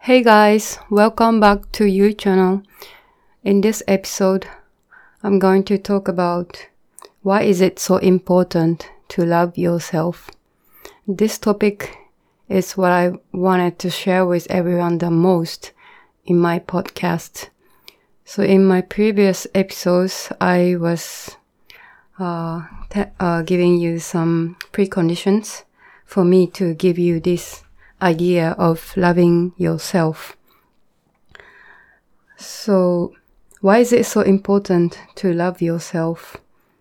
Hey guys, welcome back to your channel. In this episode, I'm going to talk about why is it so important to love yourself. This topic is what I wanted to share with everyone the most in my podcast. So in my previous episodes, I was giving you some preconditions for me to give you this idea of loving yourself. So, why is it so important to love yourself?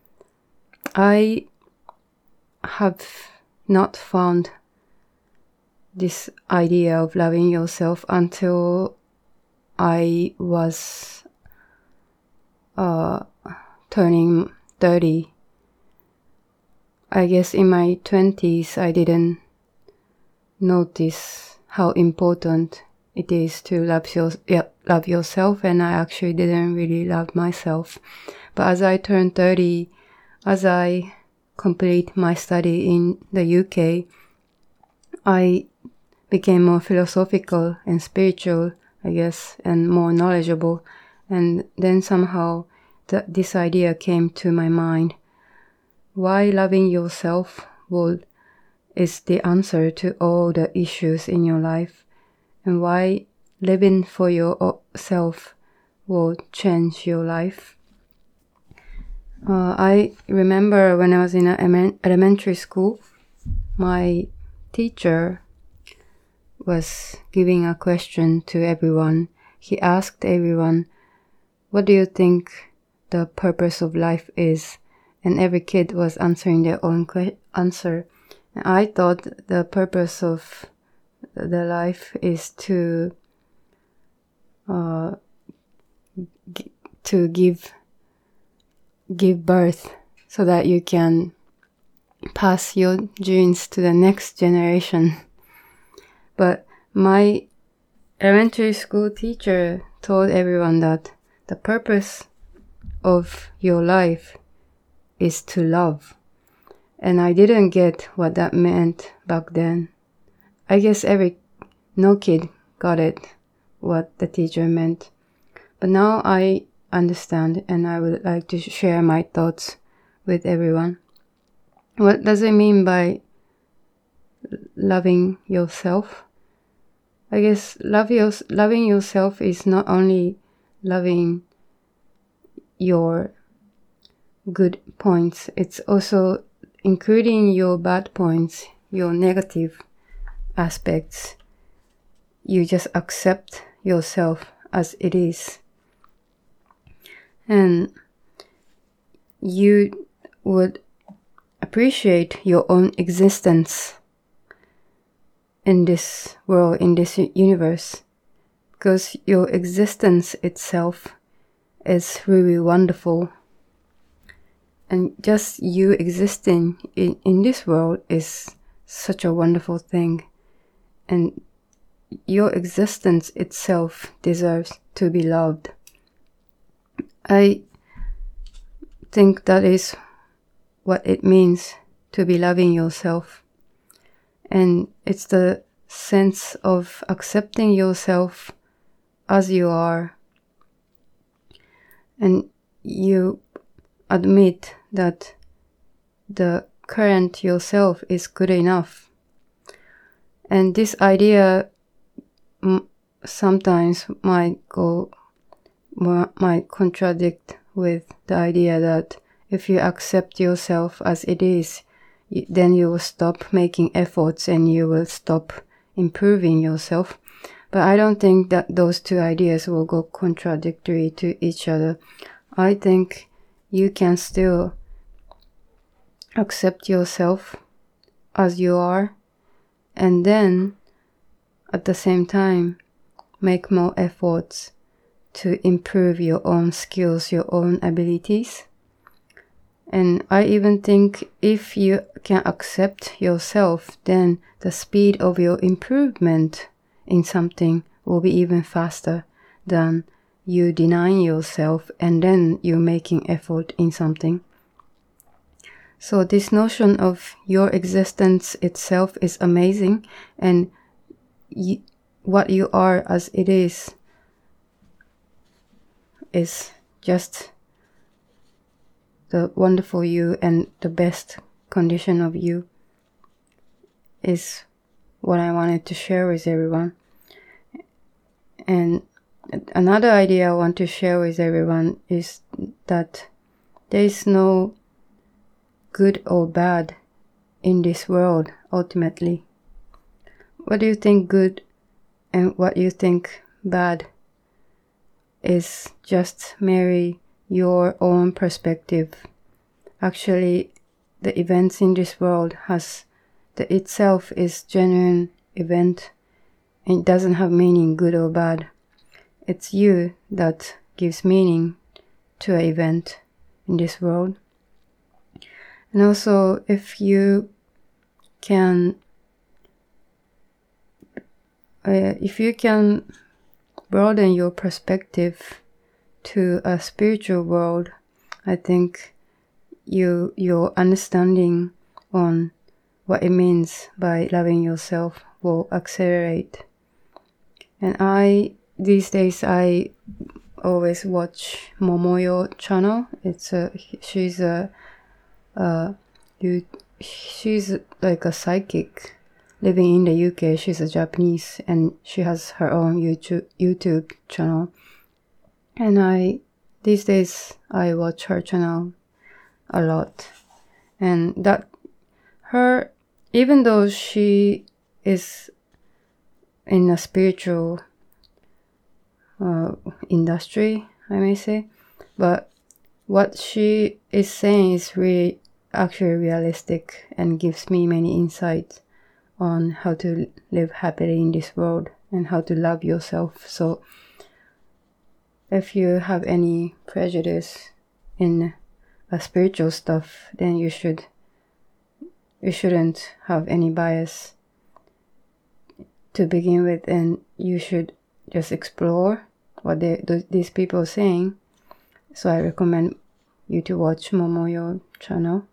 I have not found this idea of loving yourself until I was turning 30. I guess in my 20s I didn't notice how important it is to love yourself, and I actually didn't really love myself. But as I turned 30, as I complete my study in the UK, I became more philosophical and spiritual, I guess, and more knowledgeable. And then somehow this idea came to my mind. Why loving yourself is the answer to all the issues in your life, and why living for yourself will change your life. I remember when I was in elementary school, my teacher was giving a question to everyone. He asked everyone, what do you think the purpose of life is? And every kid was answering their own answer. I thought the purpose of the life is to give birth so that you can pass your genes to the next generation. But my elementary school teacher told everyone that the purpose of your life is to love. And I didn't get what that meant back then. I guess no kid got it, what the teacher meant. But now I understand, and I would like to share my thoughts with everyone. What does it mean by loving yourself? I guess loving yourself is not only loving your good points, it's also including your bad points, your negative aspects. You just accept yourself as it is. And you would appreciate your own existence in this world, in this universe, because your existence itself is really wonderful. And just you existing in this world is such a wonderful thing. And your existence itself deserves to be loved. I think that is what it means to be loving yourself. And it's the sense of accepting yourself as you are. And you admit that the current yourself is good enough. And this idea sometimes might contradict with the idea that if you accept yourself as it is, then you will stop making efforts and you will stop improving yourself. But I don't think that those two ideas will go contradictory to each other. I think you can still accept yourself as you are, and then at the same time make more efforts to improve your own skills, your own abilities. And I even think if you can accept yourself, then the speed of your improvement in something will be even faster than you denying yourself and then you making effort in something. So this notion of your existence itself is amazing, and what you are as it is just the wonderful you, and the best condition of you is what I wanted to share with everyone. And another idea I want to share with everyone is that there is no good or bad in this world, ultimately. What do you think good and what you think bad is just merely your own perspective. Actually, the events in this world itself is genuine event. It doesn't have meaning, good or bad. It's you that gives meaning to an event in this world. And also, if you can broaden your perspective to a spiritual world, I think your understanding on what it means by loving yourself will accelerate. And these days I always watch Momoyo channel. She's like a psychic living in the UK. She's a Japanese and she has her own YouTube channel. And these days I watch her channel a lot. And that even though she is in a spiritual industry, I may say, but what she is saying is really actually realistic and gives me many insights on how to live happily in this world and how to love yourself. So if you have any prejudice in spiritual stuff, then you shouldn't have any bias to begin with, and you should just explore what these people are saying. So I recommend you to watch Momoyo channel.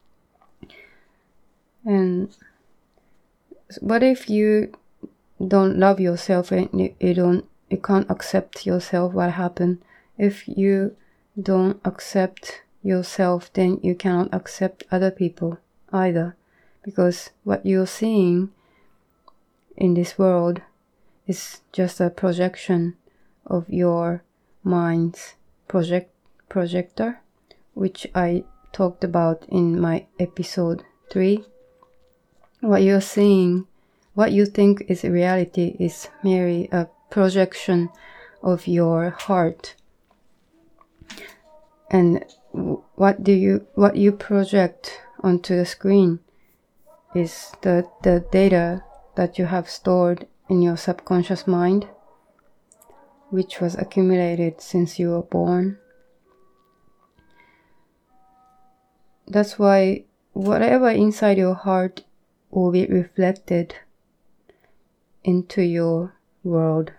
And what if you don't love yourself and you can't accept yourself? What happened? If you don't accept yourself, then you cannot accept other people either, because what you're seeing in this world is just a projection of your mind's projector, which I talked about in my episode 3. What you're seeing, what you think is reality, is merely a projection of your heart. And what you project onto the screen is the data that you have stored in your subconscious mind, which was accumulated since you were born. That's why whatever inside your heart will be reflected into your world.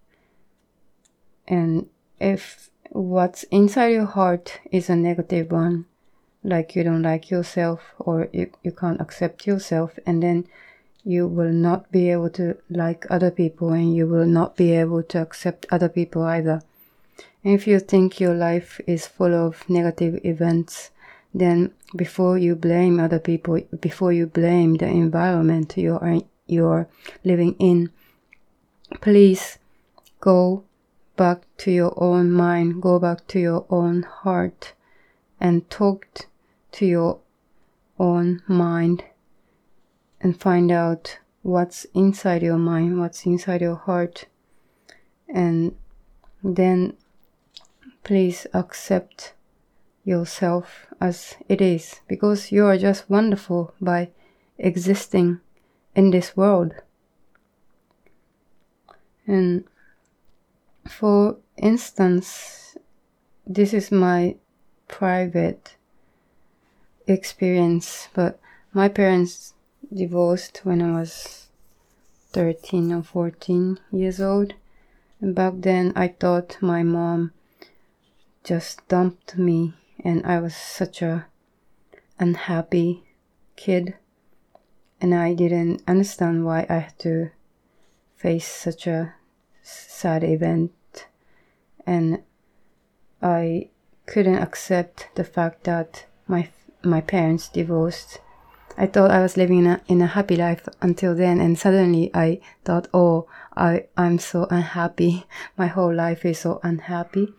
And if what's inside your heart is a negative one, like you don't like yourself or you can't accept yourself, and then you will not be able to like other people and you will not be able to accept other people either. And if you think your life is full of negative events, then before you blame other people, before you blame the environment you're living in, please go back to your own mind, go back to your own heart and talk to your own mind and find out what's inside your mind, what's inside your heart. And then please accept yourself as it is, because you are just wonderful by existing in this world. And for instance, this is my private experience, but my parents divorced when I was 13 or 14 years old. And back then I thought my mom just dumped me, and I was such a unhappy kid, and I didn't understand why I had to faced such a sad event, and I couldn't accept the fact that my parents divorced. I thought I was living in a happy life until then, and suddenly I thought, oh, I'm so unhappy. My whole life is so unhappy.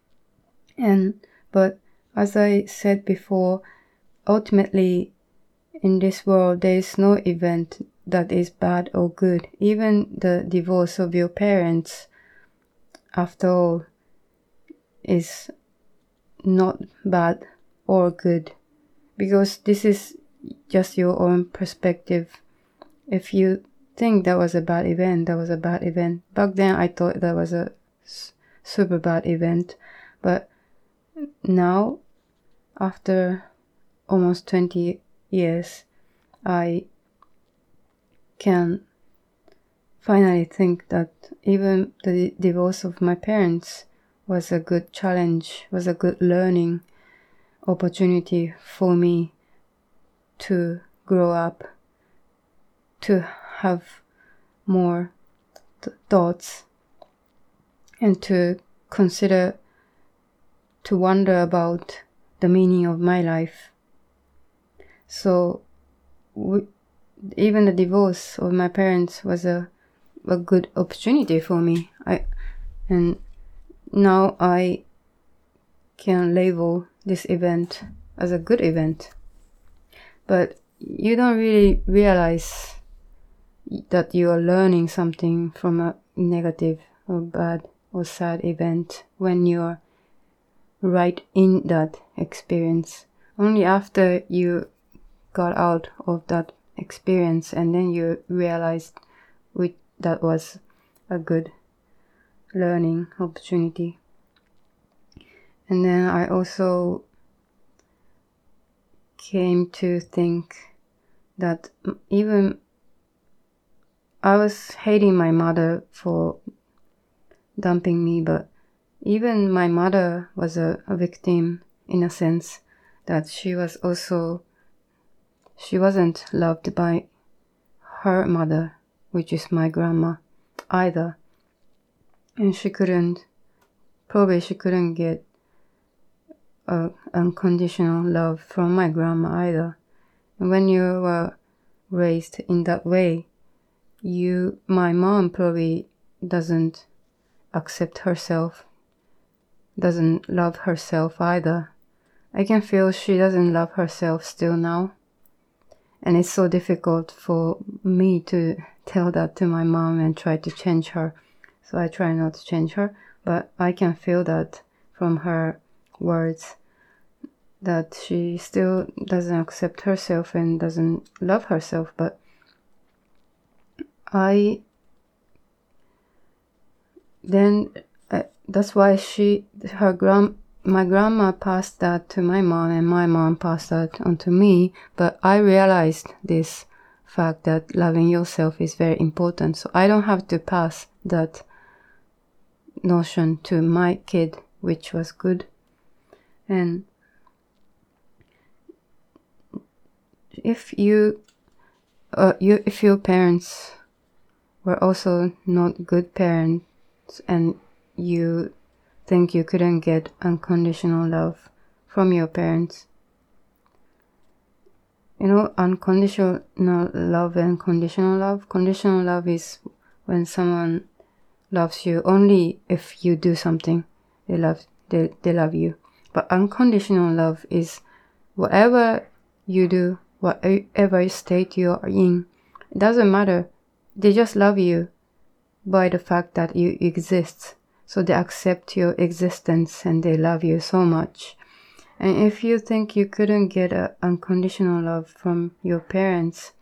But as I said before, ultimately in this world there is no event that is bad or good. Even the divorce of your parents, after all, is not bad or good, because this is just your own perspective. If you think that was a bad event, that was a bad event. Back then I thought that was a super bad event, but now, after almost 20 years, I can finally think that even the divorce of my parents was a good challenge, was a good learning opportunity for me to grow up, to have more thoughts, and to consider, to wonder about the meaning of my life. So even the divorce of my parents was a good opportunity for me. And now I can label this event as a good event. But you don't really realize that you are learning something from a negative or bad or sad event when you're right in that experience. Only after you got out of that experience and then you realized that was a good learning opportunity. And then I also came to think that even I was hating my mother for dumping me, but even my mother was a victim in a sense, that she wasn't loved by her mother, which is my grandma, either. And she couldn't get unconditional love from my grandma either. And when you were raised in that way, my mom probably doesn't accept herself, doesn't love herself either. I can feel she doesn't love herself still now. And it's so difficult for me to tell that to my mom and try to change her. So I try not to change her, but I can feel that from her words, that she still doesn't accept herself and doesn't love herself. But that's why my grandma passed that to my mom, and my mom passed that on to me. But I realized this fact that loving yourself is very important, so I don't have to pass that notion to my kid, which was good. And if your parents were also not good parents and you think you couldn't get unconditional love from your parents, unconditional love and conditional love. Conditional love is when someone loves you only if you do something. They love you. But unconditional love is whatever you do, whatever state you are in, it doesn't matter. They just love you by the fact that you exist. So they accept your existence and they love you so much. And if you think you couldn't get unconditional love from your parents,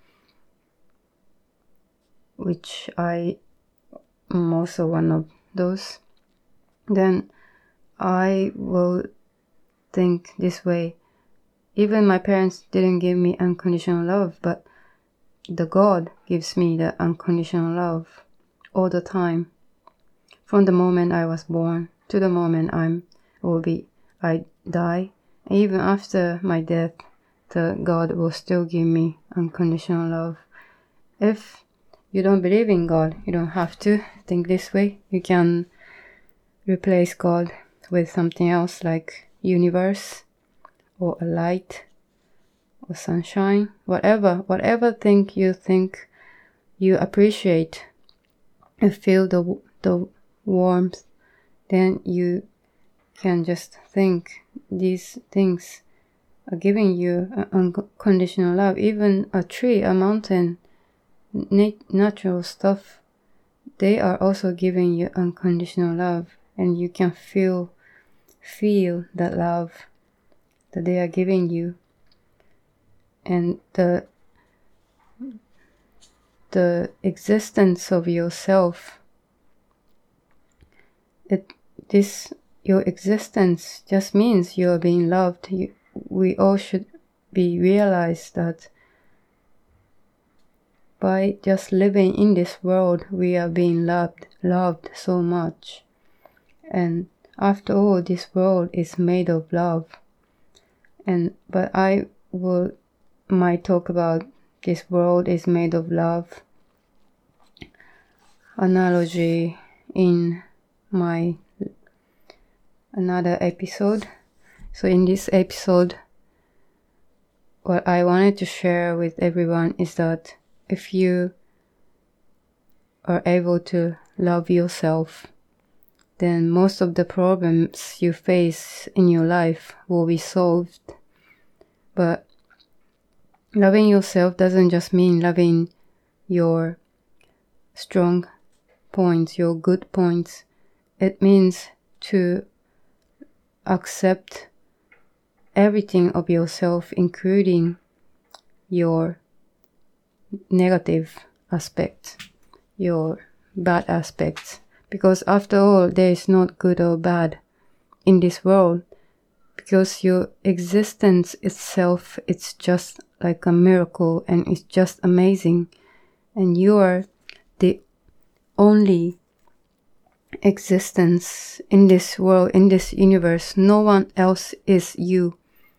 which I am also one of those, then I will think this way. Even my parents didn't give me unconditional love, but the God gives me the unconditional love all the time. From the moment I was born to the moment I die, even after my death, the God will still give me unconditional love. If you don't believe in God, you don't have to think this way. You can replace God with something else like universe or a light or sunshine, whatever thing you appreciate and feel the warmth, then you can just think these things are giving you unconditional love. Even a tree, a mountain, natural stuff, they are also giving you unconditional love, and you can feel that love that they are giving you. And the existence of yourself, your existence just means you're being loved. We all should be realized that by just living in this world, we are being loved so much. And after all, this world is made of love. But I might talk about this world is made of love analogy in my another episode. So in this episode, what I wanted to share with everyone is that if you are able to love yourself, then most of the problems you face in your life will be solved. But loving yourself doesn't just mean loving your strong points, your good points. It means to accept everything of yourself, including your negative aspects, your bad aspects. Because after all, there is not good or bad in this world. Because your existence itself, it's just like a miracle, and it's just amazing. And you are the only existence in this world, in this universe. No one else is you.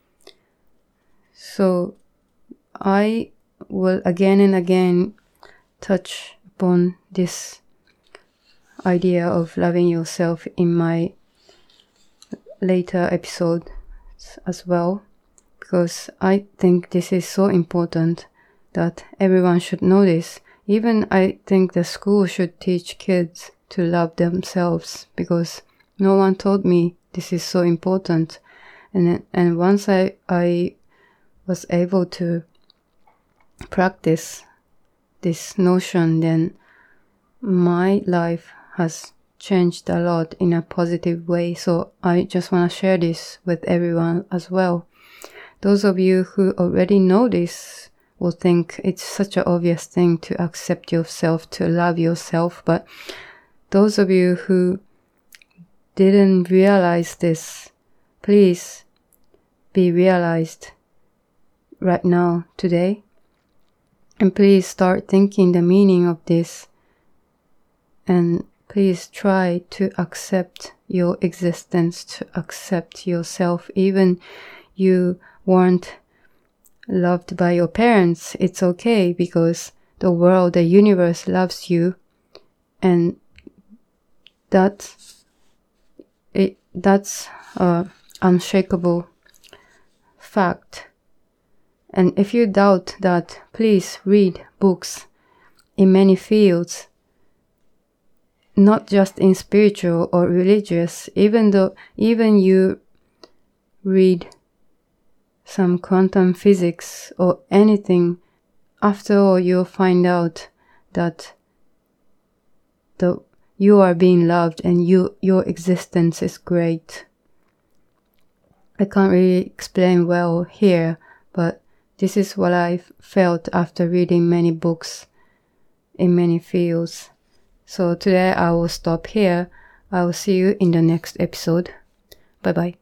So I will again and again touch upon this idea of loving yourself in my later episodes as well, because I think this is so important that everyone should know this. Even I think the school should teach kids to love themselves, because no one told me this is so important. And once I was able to practice this notion, then my life has changed a lot in a positive way. So I just want to share this with everyone as well. Those of you who already know this will think it's such an obvious thing to accept yourself, to love yourself. But those of you who didn't realize this, please be realized right now, today. And please start thinking the meaning of this. And please try to accept your existence, to accept yourself. Even you weren't loved by your parents, it's okay, because the world, the universe loves you. And that's an unshakable fact. And if you doubt that, please read books in many fields, not just in spiritual or religious. Even you read some quantum physics or anything, after all you'll find out that you are being loved and your existence is great. I can't really explain well here, but this is what I felt after reading many books in many fields. So today I will stop here. I will see you in the next episode. Bye bye.